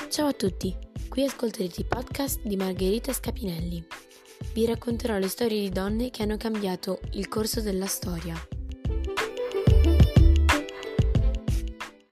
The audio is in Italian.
Ciao a tutti, qui ascolterete i podcast di Margherita Scapinelli. Vi racconterò le storie di donne che hanno cambiato il corso della storia.